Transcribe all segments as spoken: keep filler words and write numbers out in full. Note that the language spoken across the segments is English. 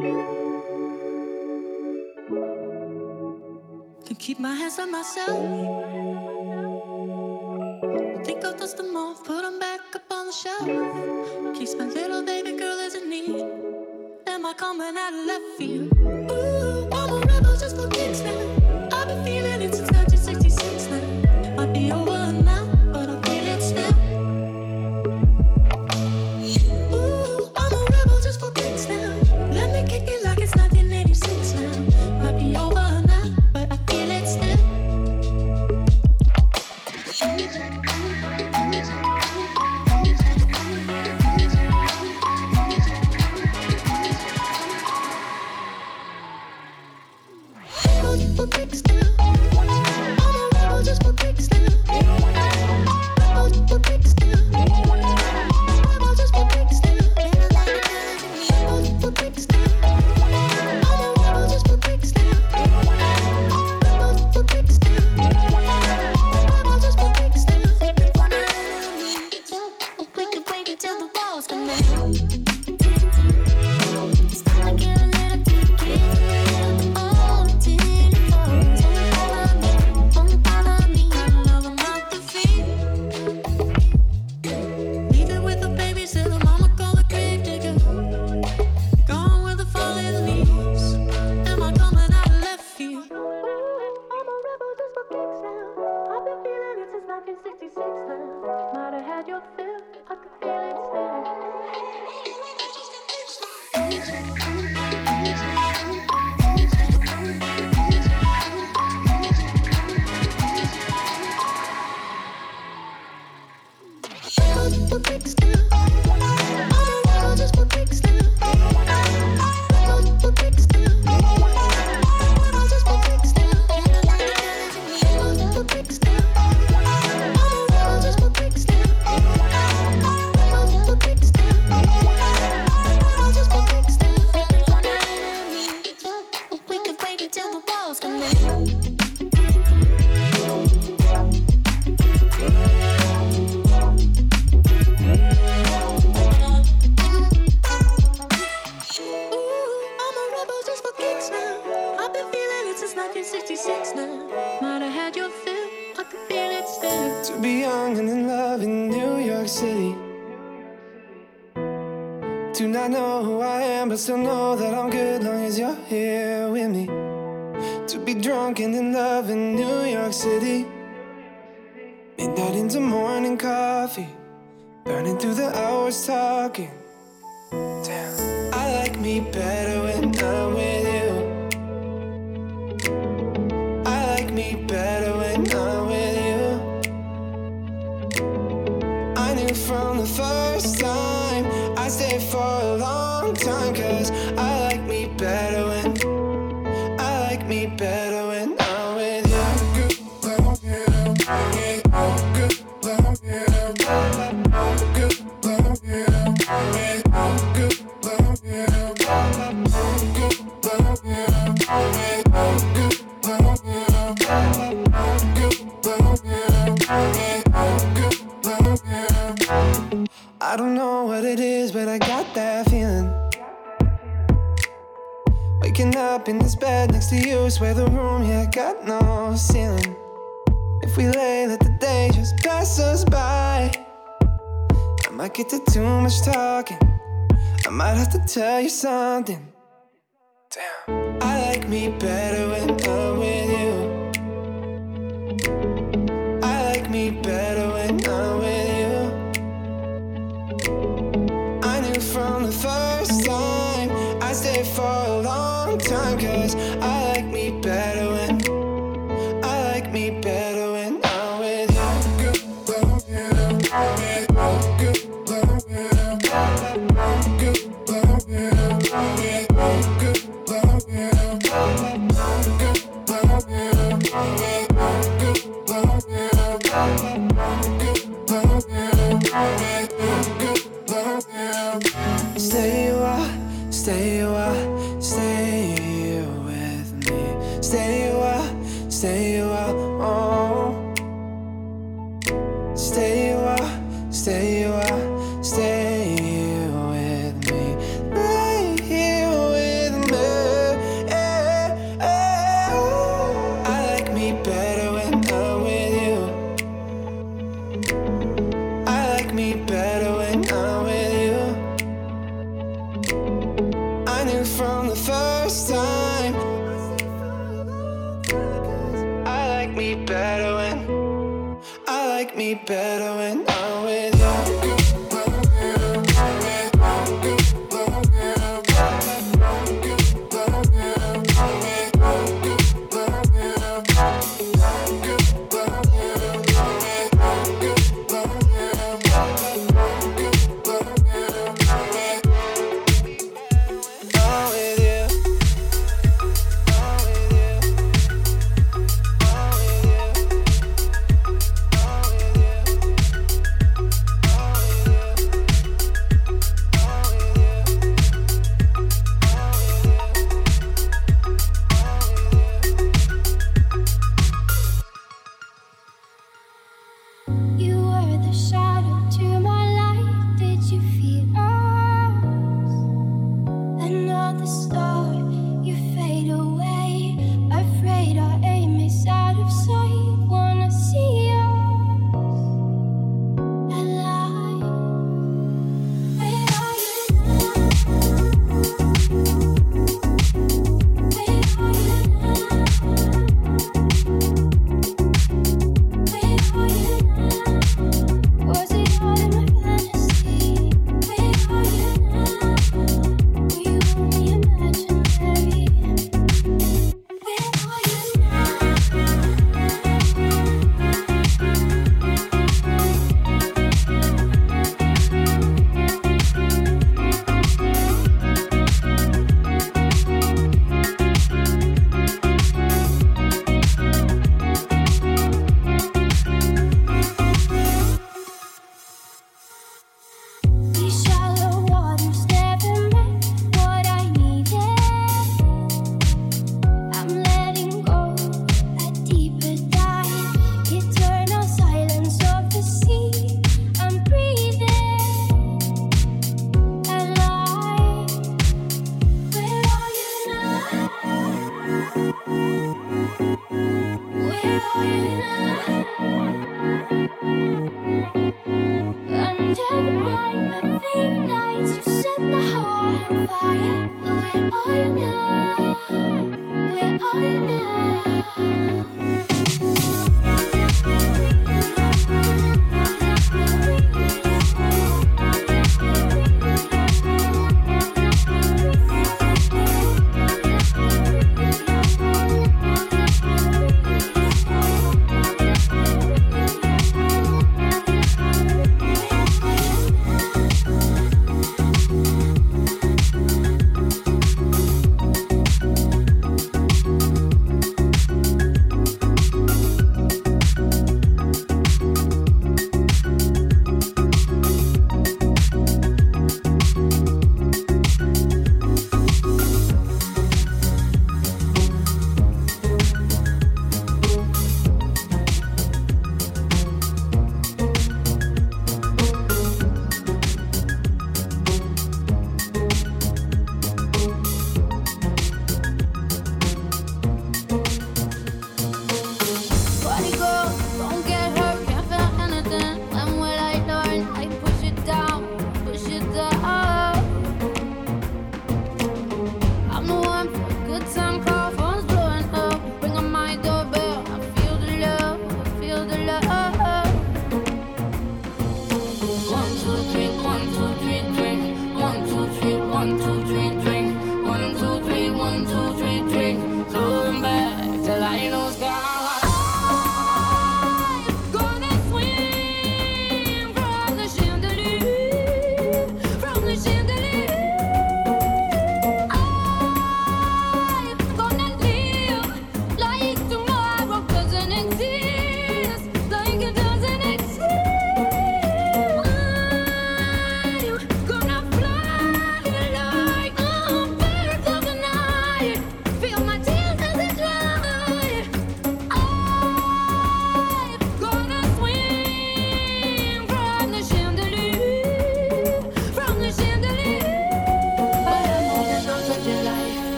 To keep my hands on myself. Think I'll dust them off, put them back up on the shelf. Case my little baby girl is in need. Am I coming out of left field? Ooh, I'm a rebel just for kicks now. I've been feeling it since nineteen sixty-six now. Might be over now, but I feel it still. Ooh, I'm a rebel just for kicks now. Let me kick it like it's nineteen eighty-six now. Might be over now, but I feel it still. For kicks now. I'm a rebel just for kicks now. Rebel for kicks now. Rebel just for kicks now. Rebel for kicks now. I'm a rebel just for kicks now. Rebel for kicks now. Rebel just for kicks now. We could wait until the walls come down. It's time to get a little bit, get a little bit. Still know that I'm good long as you're here with me. To be drunk and in love in New York City. Midnight into morning coffee. Burning through the hours talking. Damn, I like me better when I'm with you. I like me better when I'm with you. I knew from the first time I stayed for a long time. Cause I like me better when I like me better when I'm with you. Good love, yeah. Good love, yeah. Good love, yeah. Good love, yeah. Good love, yeah. Good love, yeah. Good love, yeah. Good love, yeah. I don't know what it is, but I got that feeling. Waking up in this bed next to you, swear the room, yeah, got no ceiling. If we lay, let the day just pass us by. I might get to too much talking. I might have to tell you something. Damn, I like me better when I'm with you. I like me better when I'm with you. I knew from the first time I stayed for a long time. Cause I like me better when I like me better when I'm with you. Good love, yeah. Good love, yeah. Good love, yeah. Good love, yeah. Good love, yeah. Good love, yeah. Good love, yeah. Good love, yeah. Stay a while, stay a while, stay with me. Stay a while, stay a while, oh. Stay a while, stay a while. me better when I'm with you.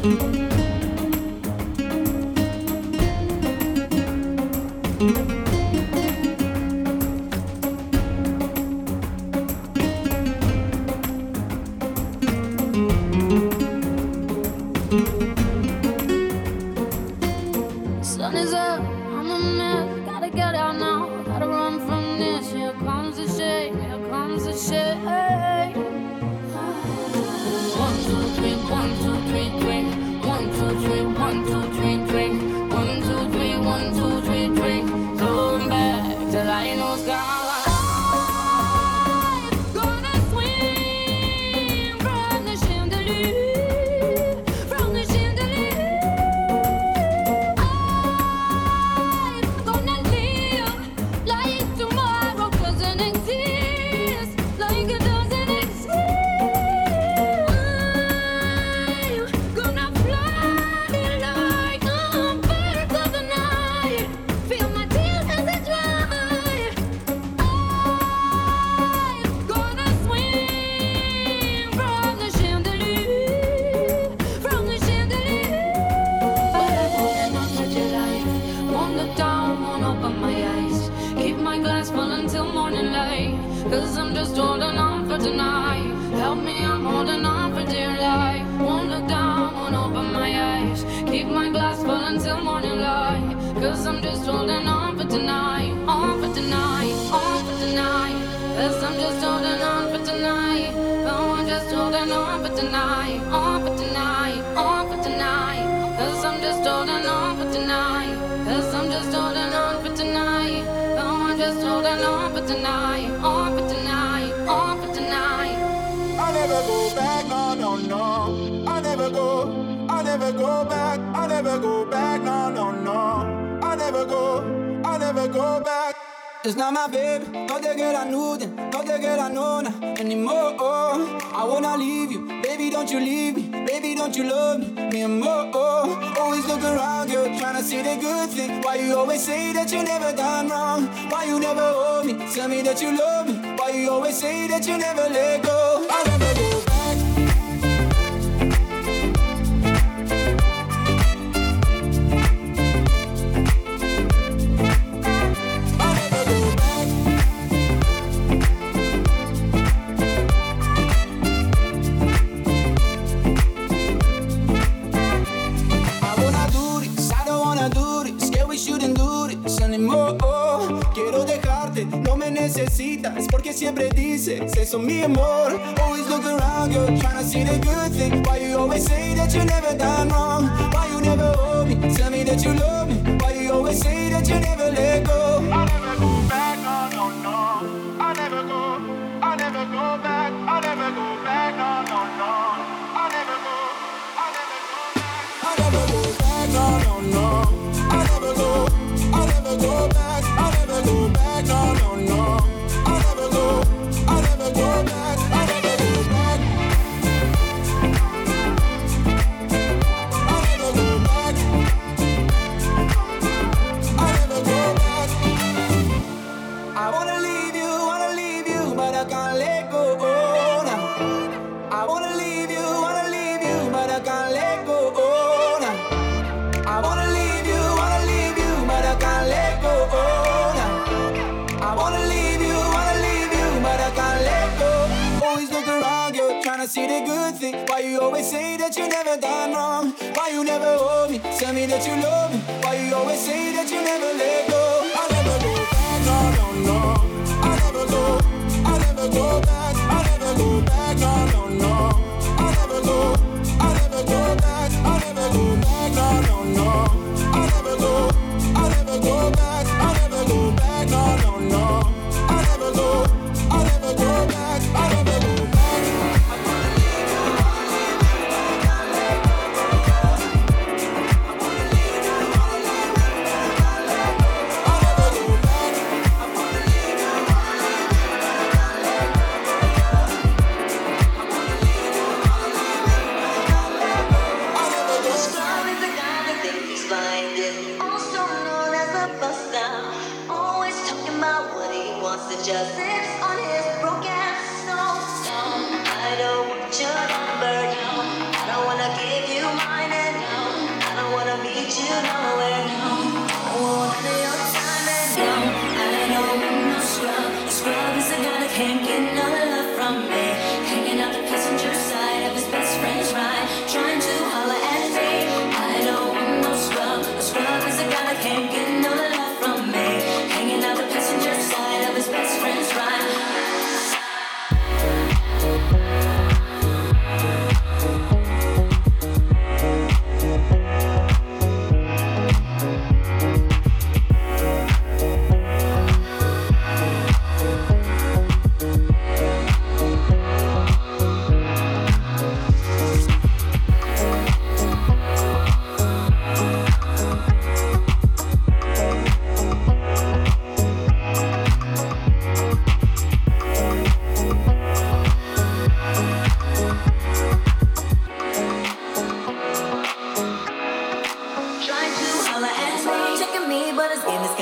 Sun is up, I'm a mess. Gotta get out now, gotta run from this. Here comes the shade, here comes the shade. One, two, three, one, two, three, three. One, two, three, one, two, three, three. One, two, three, one, two, three, three. Going back till I know sky. Cause I'm just holding on for tonight. Help me, I'm holding on for dear life. Won't look down, won't open my eyes. Keep my glass full until morning light. Cause I'm just holding on for tonight. On for tonight, on for tonight. Cause I'm just holding on for tonight. Oh, I'm just holding on for tonight. On for tonight, on for tonight. Cause I'm just holding on for tonight. Cause I'm just holding on for tonight. Oh, I'm just holding on for tonight. On for tonight, on for tonight. I never go back, no, no, no. I never go, I never go back. I never go back, no, no, no. I never go, I never go back. It's not my baby, no te queda nude, no te queda nona anymore. I wanna leave you, baby, don't you leave me. Baby, don't you love me, me and more. Always look around, girl, tryna see the good thing. Why you always say that you never done wrong? Why you never hold me? Tell me that you love me. Why you always say that you never let go? I'll never go back. Necesitas porque siempre dices eso mi amor. Always look around, girl, tryna see the good thing. Why you always say that you never done wrong? Why you never hold me? Tell me that you love me. Why you always say that you never let go? I'll never go back, no, no, no. I'll never go, I'll never go back. I'll never go back, no, no, no. I'll never go, I'll never go back. I'll never go back, no, no, no. I'll never go, I'll never go back. I'll never go back, no, no, no. I'll never go, I'll never go back. I'll never go back. I'll never go back. I'll never go back. I wanna leave you, wanna leave you, but I can't let go. Oh, nah. I wanna leave you, wanna leave you, but I can't let go. Oh, nah. I wanna leave you, wanna leave you, but I can't let go. Oh, nah. I wanna leave you, wanna leave you, but I can't let go. Always look around, you're trying to see the good thing. Why you always say that you never done wrong? Why you never hold me? Tell me that you love me. Why you always say that you never let go? I'll never go back, no, no, no. I'll never go, I'll never go back. I'll never go back, no, no, no. I'll never go, I'll never go back. I'll never go back, no, no, no. I'll never go, I'll never go back. I'll never go back, no, no, no. I'll never go, I'll never go back. I'll never go back. I wanna leave you, wanna leave you, but I can't let go. I wanna leave you, wanna leave you, but I can't let go. I'll never go back. I wanna leave you, wanna leave you, but I can't let go. I wanna leave you, wanna leave you, but I can't let go. I'll never go back. Star is the guy that thinks he's blinded, also known as a buster. Always talking about what he wants to just sits on his broken soul. I don't want your number, no. I don't wanna give you mine.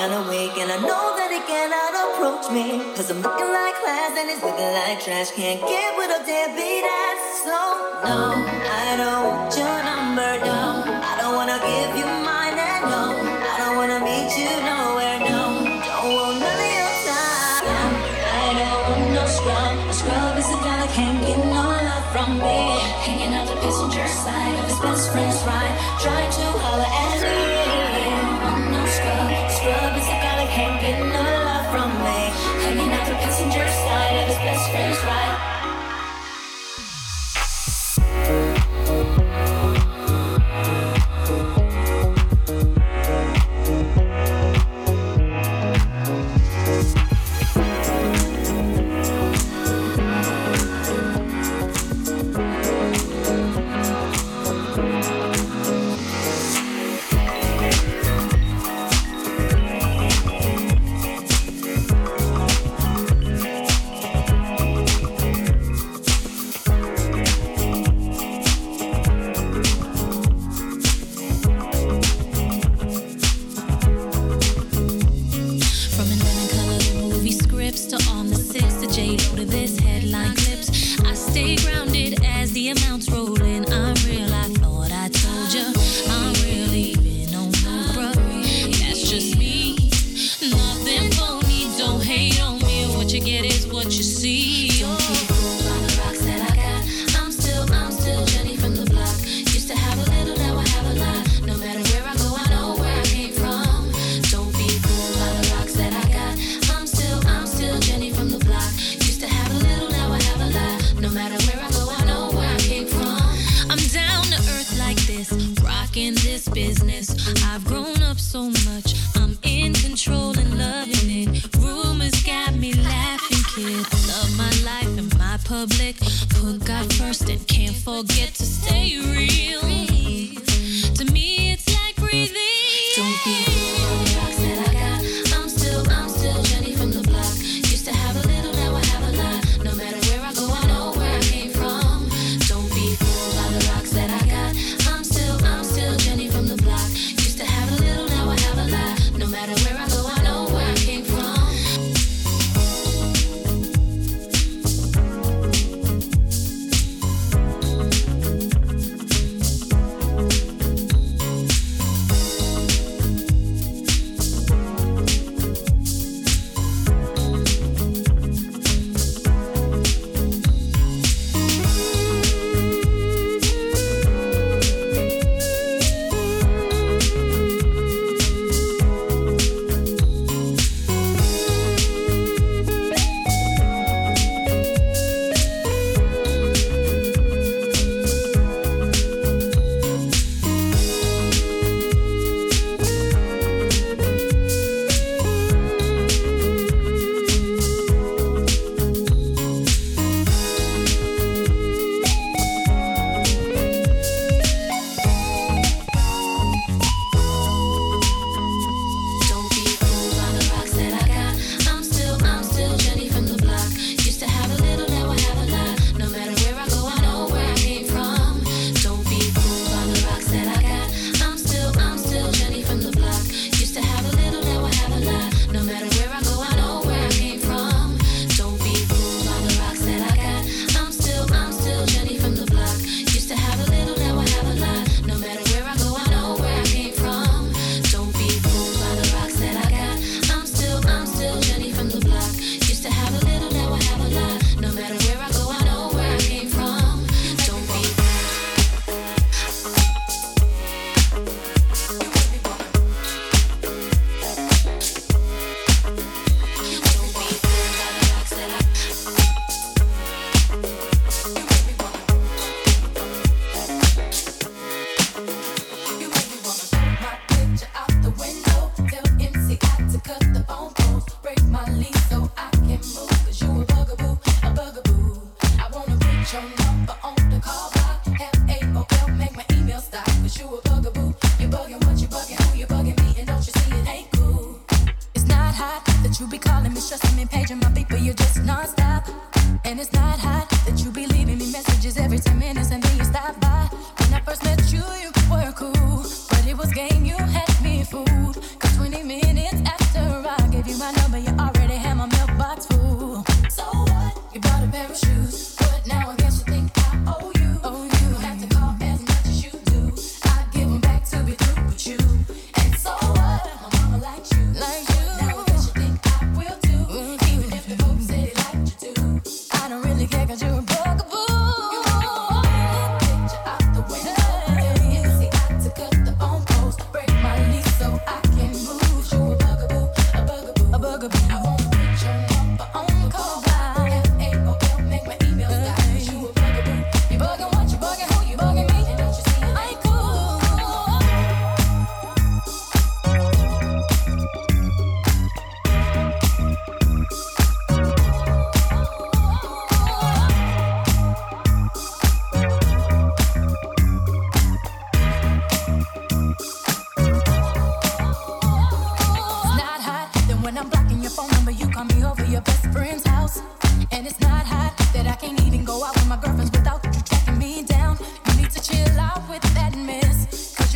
kinda weak, and I know that he cannot approach me. Cause I'm looking like class and he's looking like trash. Can't get with a deadbeat ass. So, no, I don't want your number, no. I don't wanna give you mine, and no, I don't wanna meet you nowhere, no. Don't want none of your time. No, I don't want no scrub. A scrub is a guy that can't get no love from me. Hanging out the passenger side of his best friend's ride, trying to holler at me. No scrub. Scrub is a guy that can't get no love from me. Hanging out the passenger side of his best friend's ride.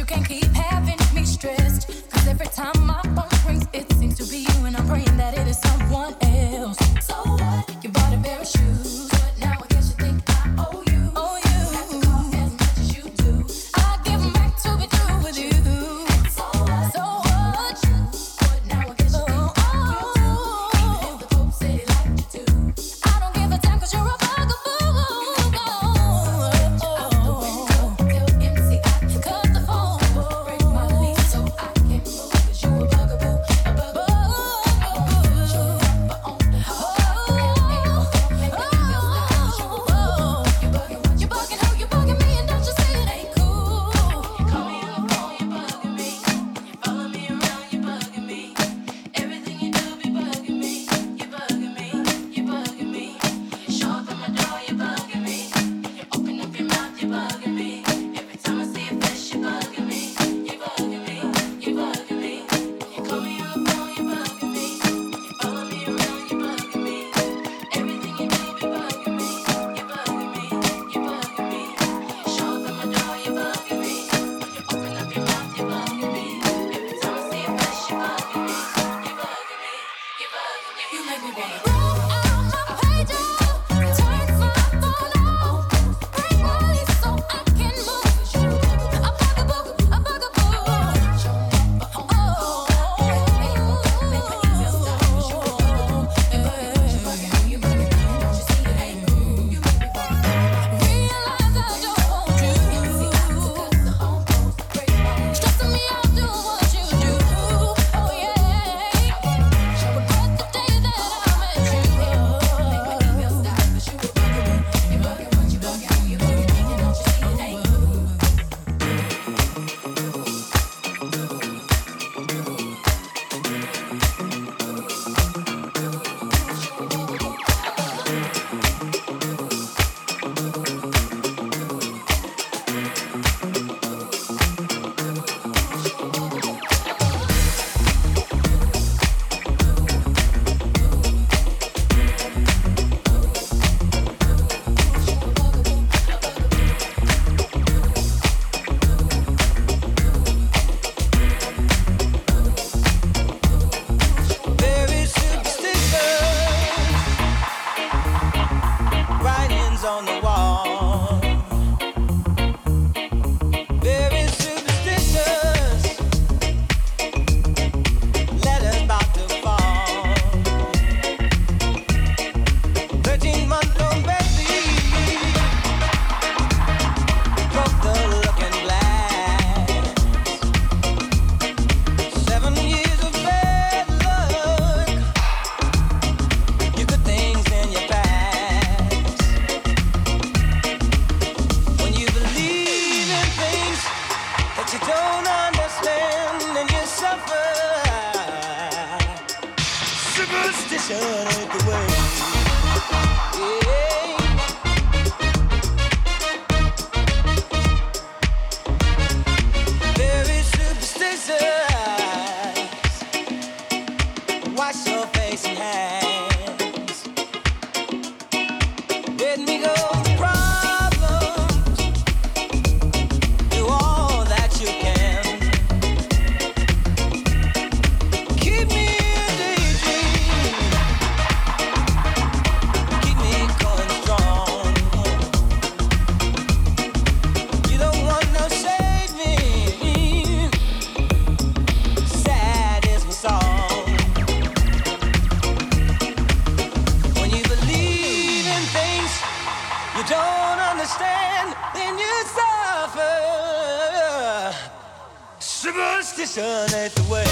Superstition ain't the way.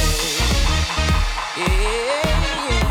Yeah, yeah.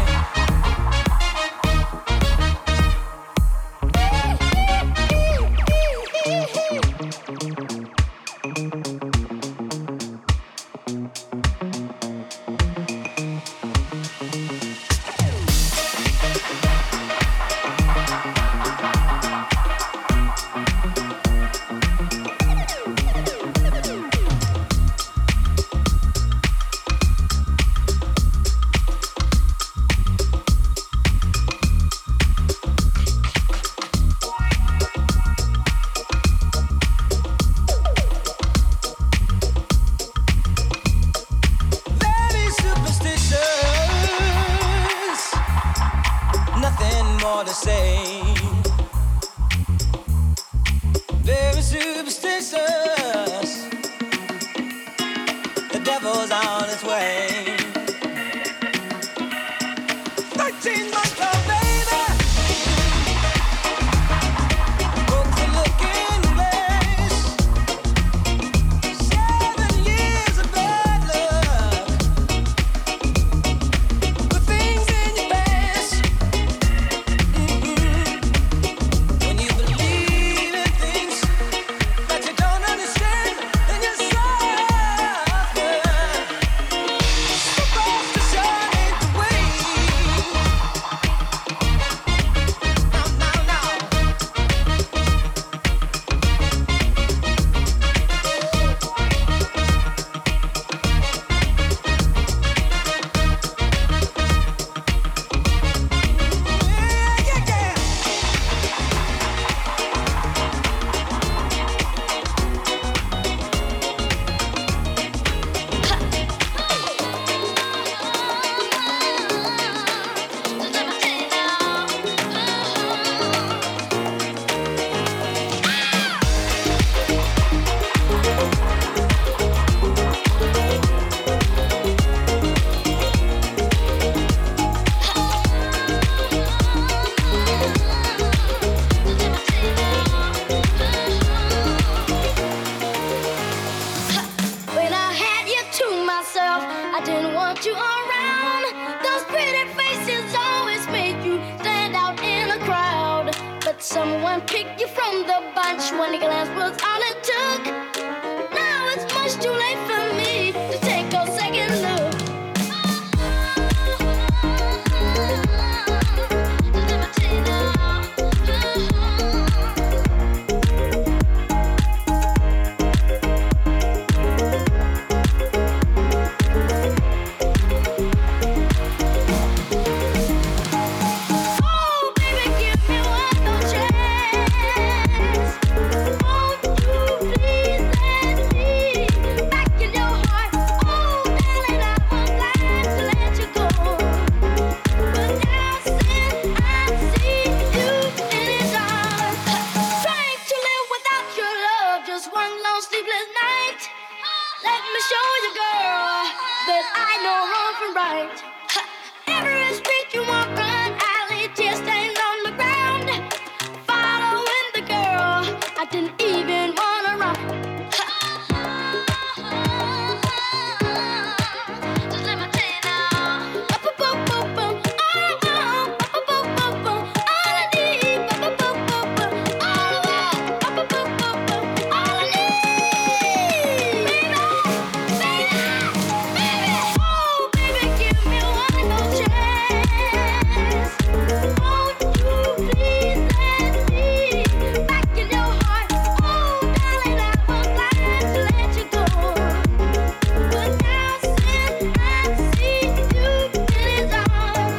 say. Very superstitious. The devil's on its way. Thirteen months old, baby. Folks are looking place. Seven years of bad luck. The things in your past. Mm-hmm. When you believe in things that you don't understand, then you suffer. Superstition ain't the way. Now, now, now. Yeah, yeah, yeah. When I had you to myself, I didn't want you around. Those pretty faces always make you stand out in a crowd. But someone picked you from the bunch. One glance was all it took. Now it's much too late for me to take a second look. Oh, baby, give me one more chance. Won't you please let me back in your heart? Oh, darling, I was glad to let you go. But now since I see you in his arms, trying to live without your love, just one long sleepless night. Let me show you, girl, that I know wrong from right. Every street you walk on, alley, tear stains on the ground. Following the girl, I didn't even wanna run. Just let me tell you now. Ba-ba-boom-boom-boom. Oh, oh. Ba-ba-boom-boom-boom. All I need. Ba-ba-boom-boom-boom. All I want. Ba-ba-boom-boom-boom. All I need. Baby, baby, baby. Oh, baby, give me one more chance. Won't you please let me back in your heart? Oh, darling, I was glad to let you go. But now since I see you in his arms,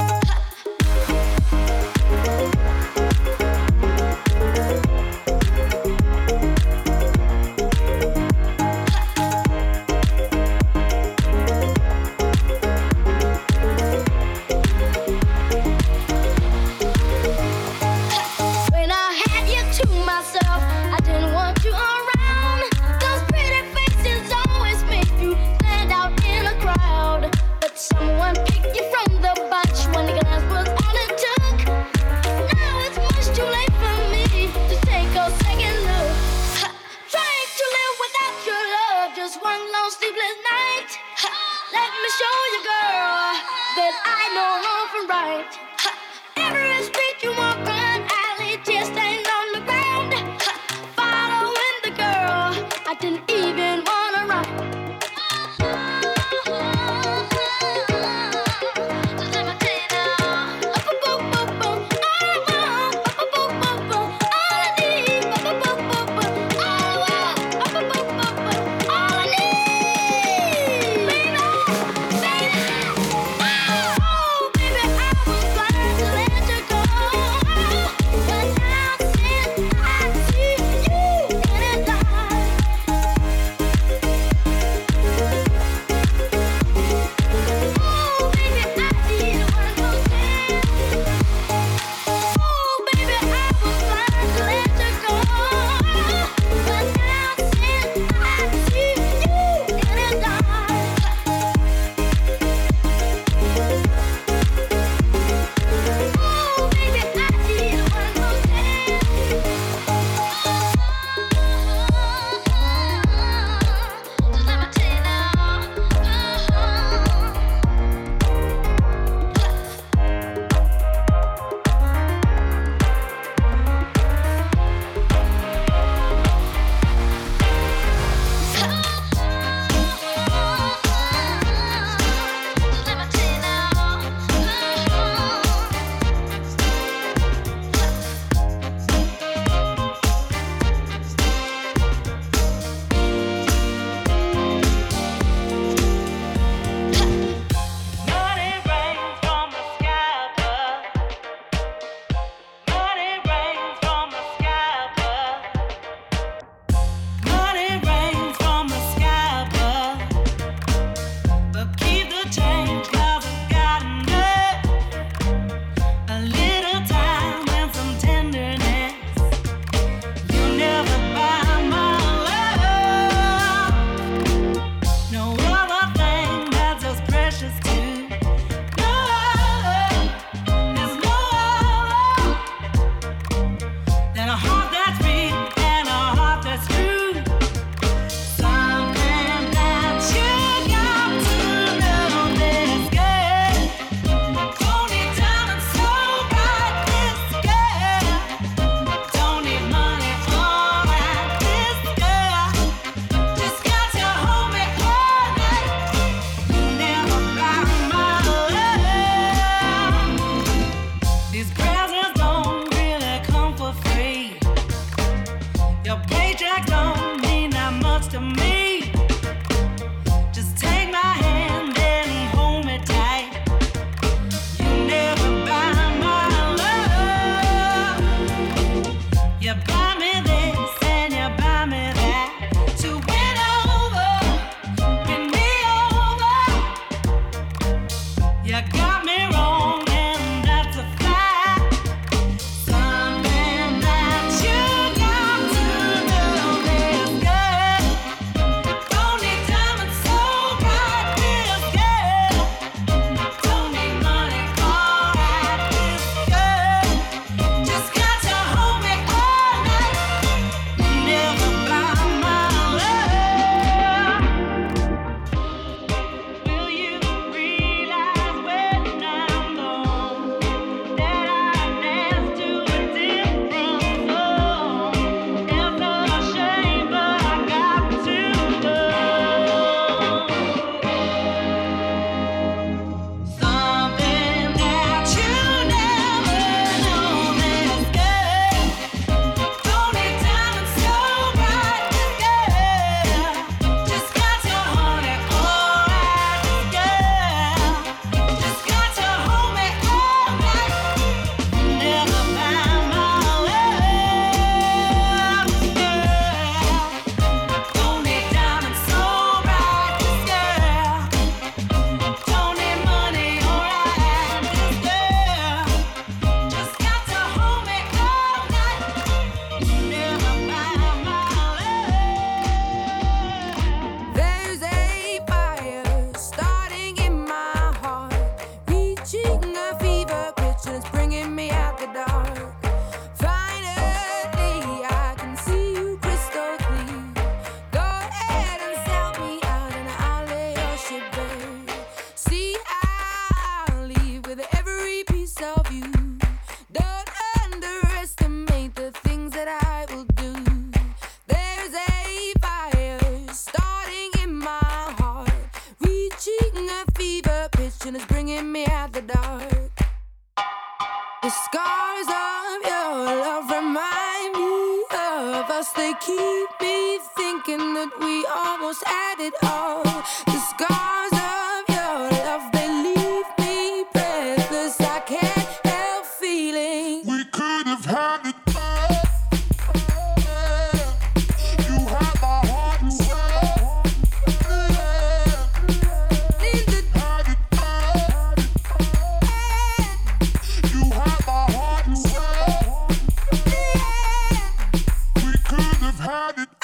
when I had you to myself, I didn't want you around. Those pretty faces always make you stand out in a crowd. But someone picked you from the bunch. One glance was all it took. Now it's much too late for me to take a second look. Trying to live without your love, just one long sleepless night. Let me show you, girl, that I know wrong from right. Every street you walk on, alley, tear stains on the ground. Following the girl, I didn't even wanna run. Just let me tell you now. Ba-ba-boom-boom-boom. All I want. Ba-ba-boom-boom-boom. All I need. Ba-ba-boom-boom-boom. All I want. Ba-ba-boom-boom-boom. All I need. Baby, baby. Oh, baby, I was glad to let you go. But now since I see you in his eyes, reflection is bringing me out the dark. The scars of your love remind me of us. They keep me thinking that we almost had it all. The scars of your love, they leave me breathless. I can't help feeling we could have had it all. You had my heart and soul. in the Had it all. You had my heart and soul. We could have had it.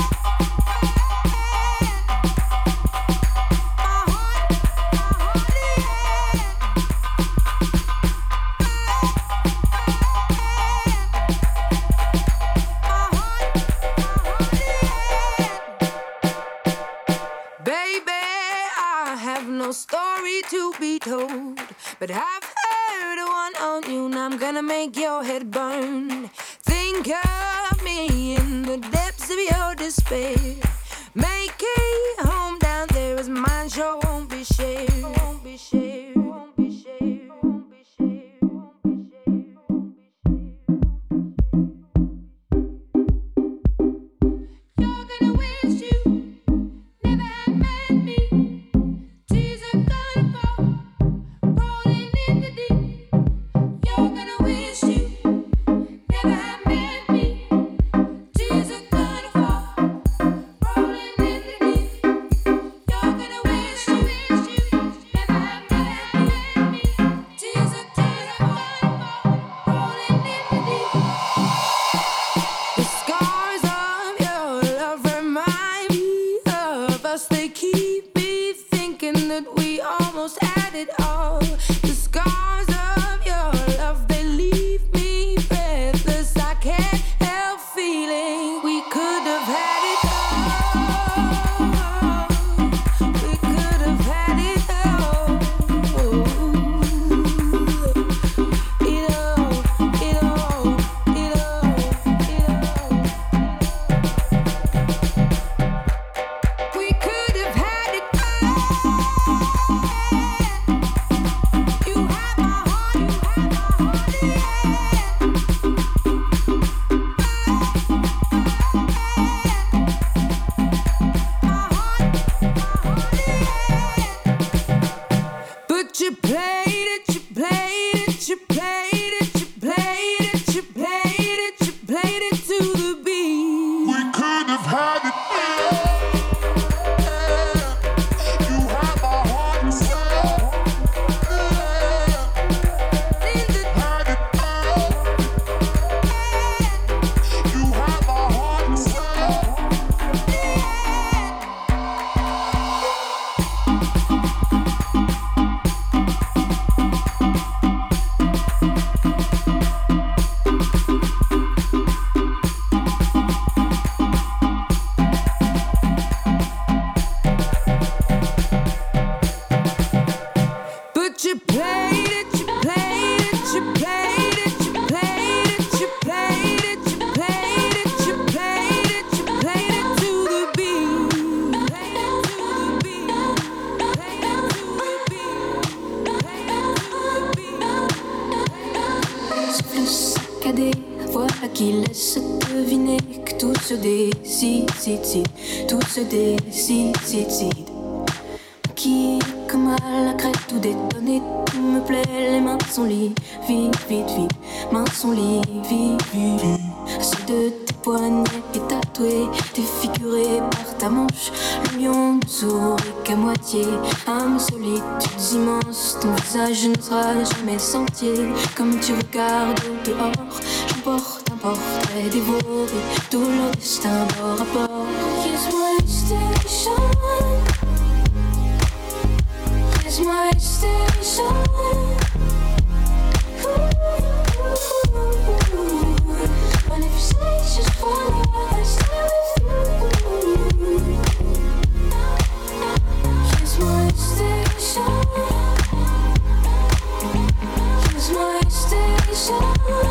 Baby, I have no story to be told, but I've heard one on you, and I'm gonna make your head burn. Think of me in the depths of your despair. Make a home down there as mine sure won't be shared. Won't be shared. Won't be shared. Won't be shared. Won't be shared. You're gonna wish you never had met me. Tears are gonna fall, rolling in the deep. You're gonna wish you never had met me. Tears are gonna fall, rolling in the deep. You're gonna wish you, wish you never had met me. Tears are gonna fall, rolling in the deep. The scars of your love remind me of us. They keep me thinking that we almost had it all. The scars of your love, they leave me breathless. I can't help feeling we could have had it all. We could have had it all. It all, it all, it all, it all. We could have had it all. You have my heart, you have my heart, yeah. My heart, my heart, yeah. But you played it, you played it, you played it, you played it, you played it, you played it to the beat. We could have had it all. You had my heart and soul. In the Had it all. You had my heart and soul. But you played it, you played it, you played it, you played it, you played it, you played it, you played it, you played it to the beat. Played it to the beat. Played it to the beat. Played it to the beat. Souffle saccadé, voilà qui laisse deviner que tout se décide, décide, tout se décide, décide. Qui, comme à la crête, tout détonné, tout me plaît, les mains sont liées, vite, vite, vite, mains sont liées, vite, vite, vite. Ceux de tes poignets est tatoué, défiguré par ta manche, le lion ne sourit qu'à moitié, âme solitudes immenses, ton visage ne sera jamais sentier, comme tu regardes dehors, j'emporte un portrait dévoré, tout le destin bord à bord. Here's my station. Here's my station. But if you say it's just for me, I'll stay with you. Here's my station. Here's my station.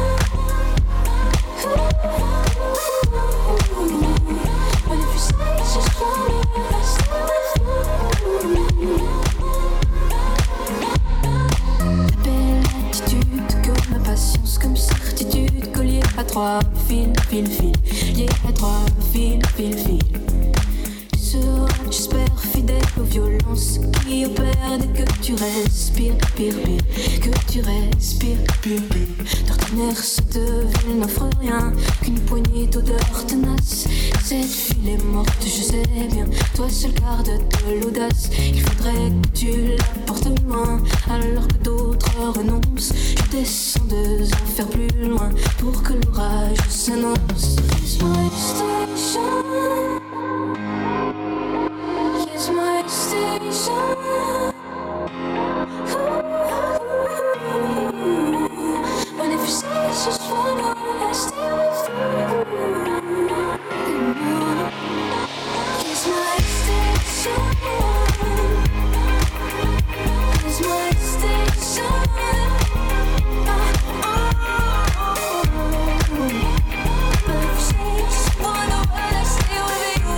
But if you say it's just for me, I'll stay with you. trois fils, fil, fil, liés à trois fils, fil, fil. Tu seras, j'espère, fidèle aux violences qui opèrent dès que tu respires, pire, pire, que tu respires, pire, pire. D'ordinaire, cette ville n'offre rien qu'une poignée d'odeurs tenaces. Cette fille est morte, je sais bien, toi seul garde de l'audace. Il faudrait que tu la portes loin, alors que d'autres renoncent. Je descends deux enfers plus loin pour que l'orage s'annonce. Here's my station. Here's my station. But if you say it's just fun, I'll stay with you. Here's my station. Here's my station. But if you say it's just fun, I'll stay with you.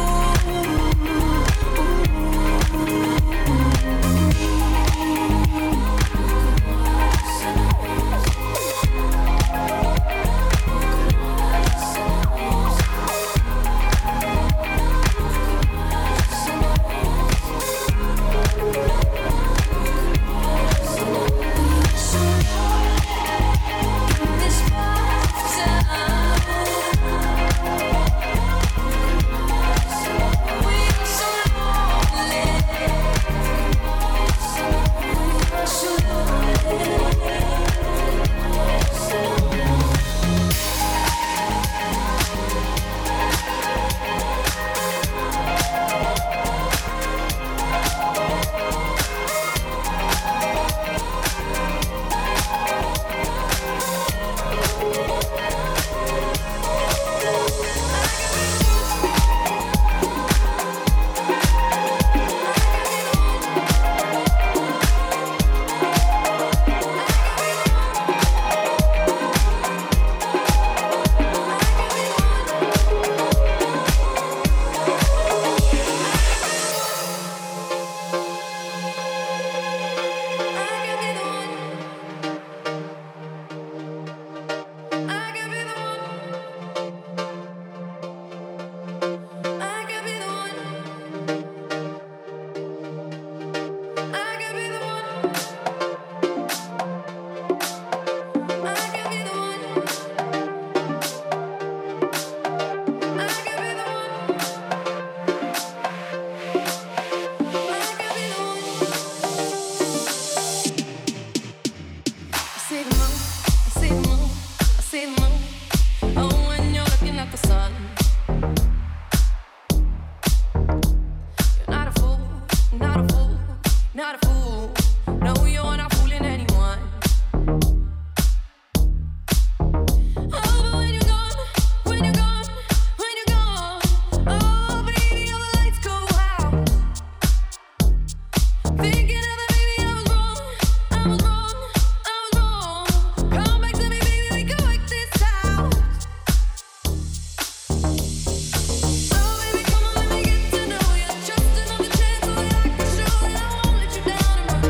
Down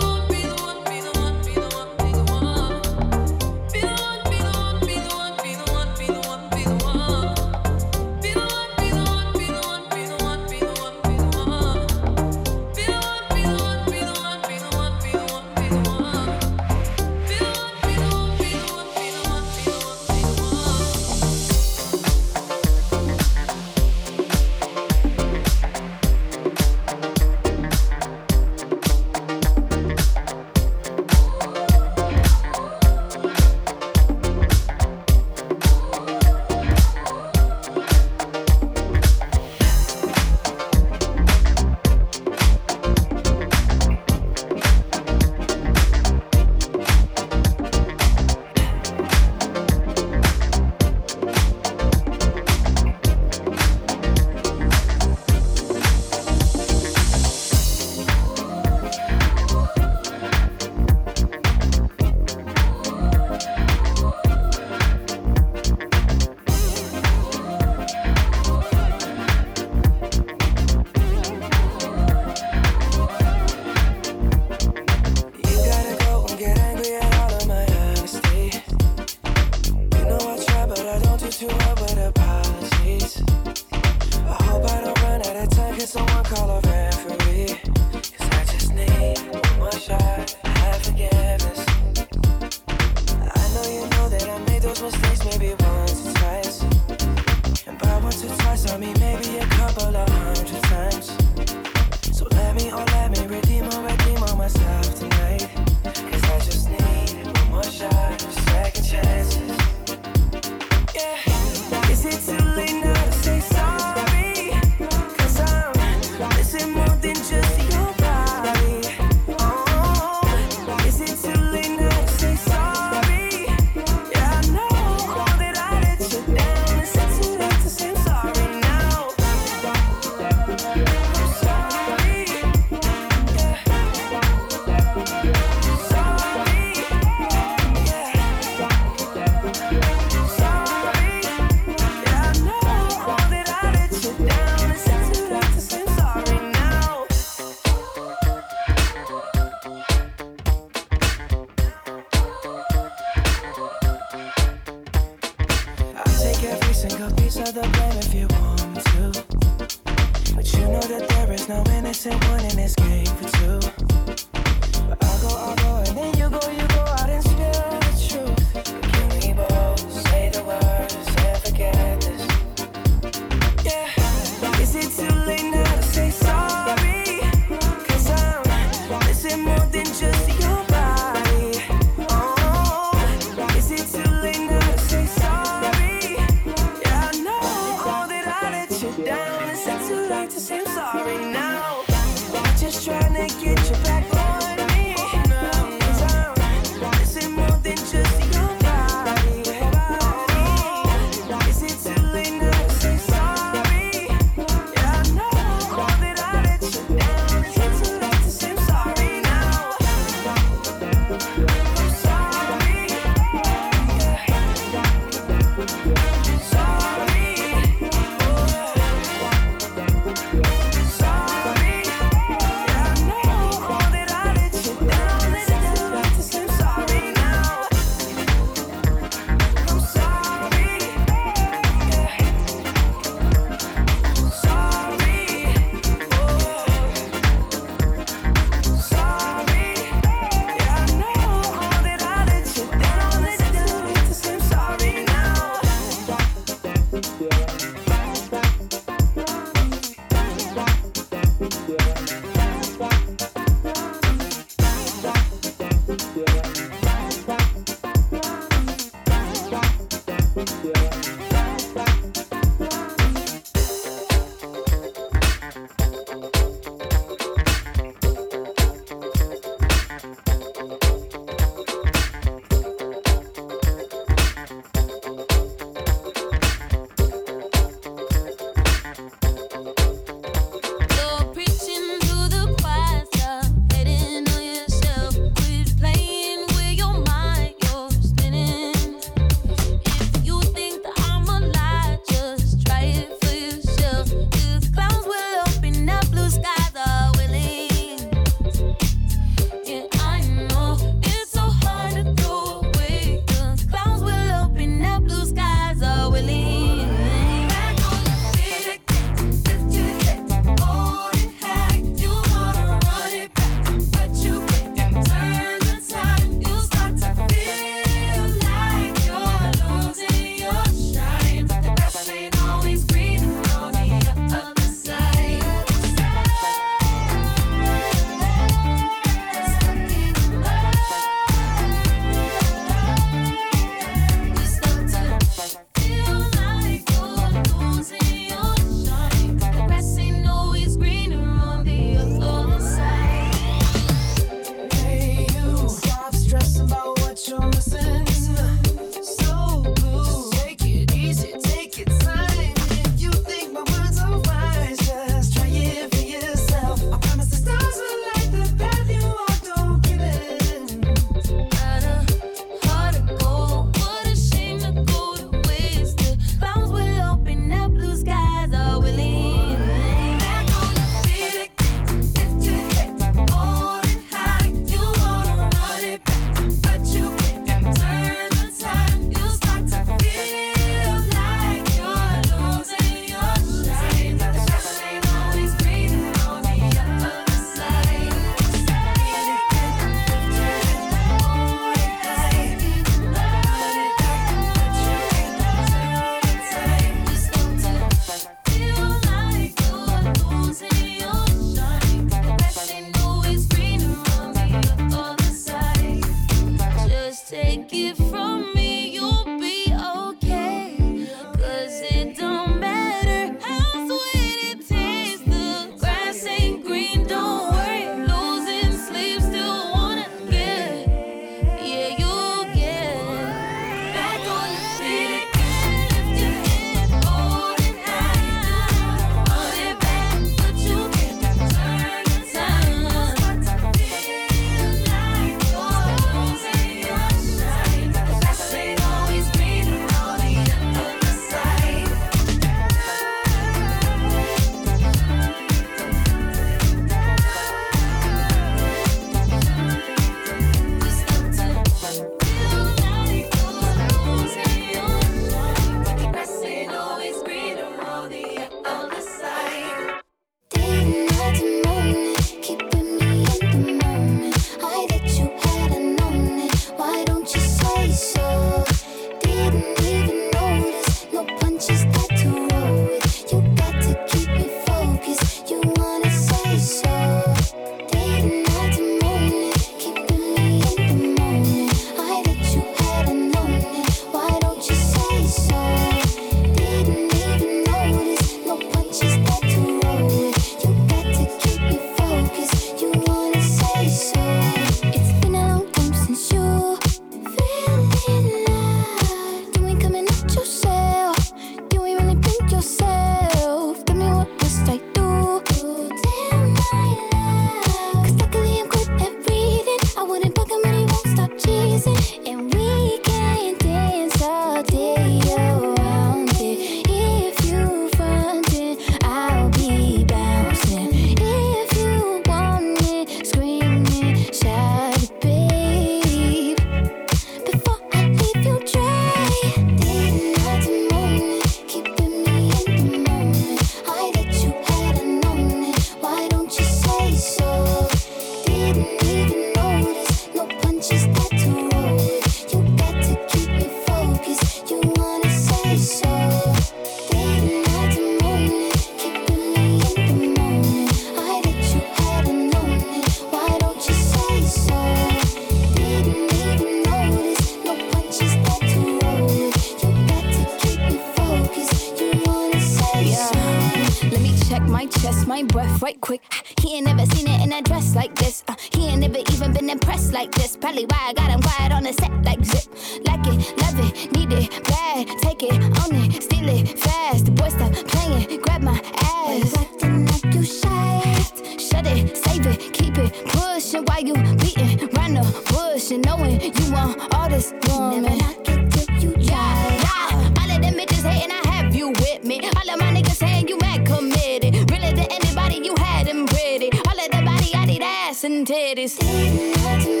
even been impressed like this. Probably why I got him quiet on the set like zip. Like it, love it, need it, bad. Take it, own it, steal it, fast. The boy stop playing, grab my ass. Acting like you shy. Shut it, save it, keep it pushing while you beating round the bush and knowing you want all this woman. Never knock it till you try. Yeah, all of them bitches hating, I have you with me. All of my niggas saying you mad committed. Really to anybody you had them pretty. All of the body, I need ass and titties.